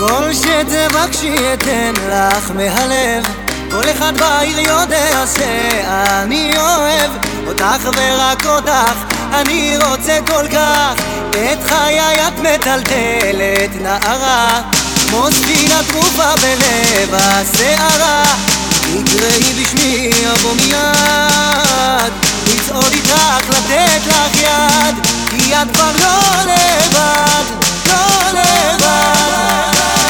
כל שתבקשי אתן לך מהלב, כל אחד בעיר יודע שאני אוהב אותך ורק אותך, אני רוצה כל כך. את חיי את מטלטלת נערה, כמו ספינה טרופה בלב הסערה. תקראי בשמי אבוא מיד, לצעוד איתך לתת לך יד, כי את כבר לא לבד, לא לבד.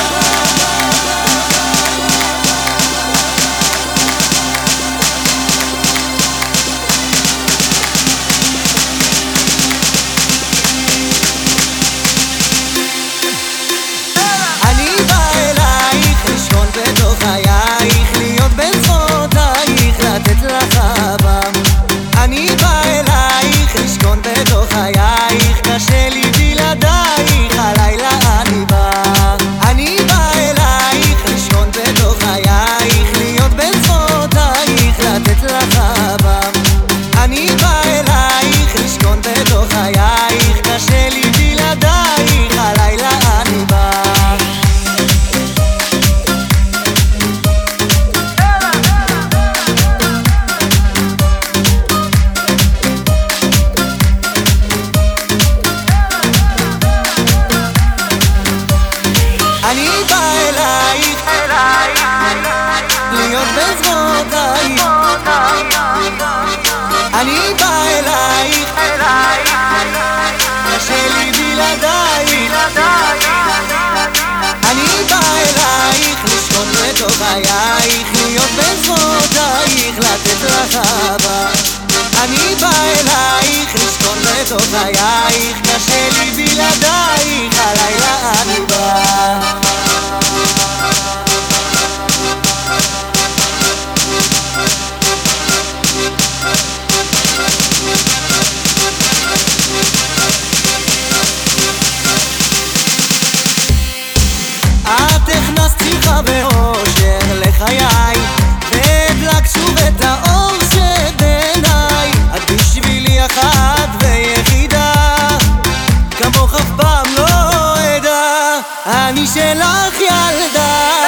קשה לי בלעדייך, הלילה אני בא. אני בא אלייך, לשכון בתוך חייך, להיות בין זרועותייך, לתת לך אהבה. אני בא אלייך, לשכון בתוך חייך, קשה לי בלעדייך, הלילה אני בא. אני בא אלייך, להיות בין זרועותייך. אני בא אלייך, קשה לי בלעדייך. אני בא אלייך, לשכון בתוך חייך, להיות בין זרועותייך, לתת לך אהבה. אני בא אלייך, לשכון בתוך חייך, קשה לי בלעדייך, הלילה אני בא. את הכנסת שמחה ואושר לחיי, והדלקת שוב את האור שבעיניי. את בשבילי אחת ויחידה, כמוך אף פעם לא אדע. אני שלך ילדה,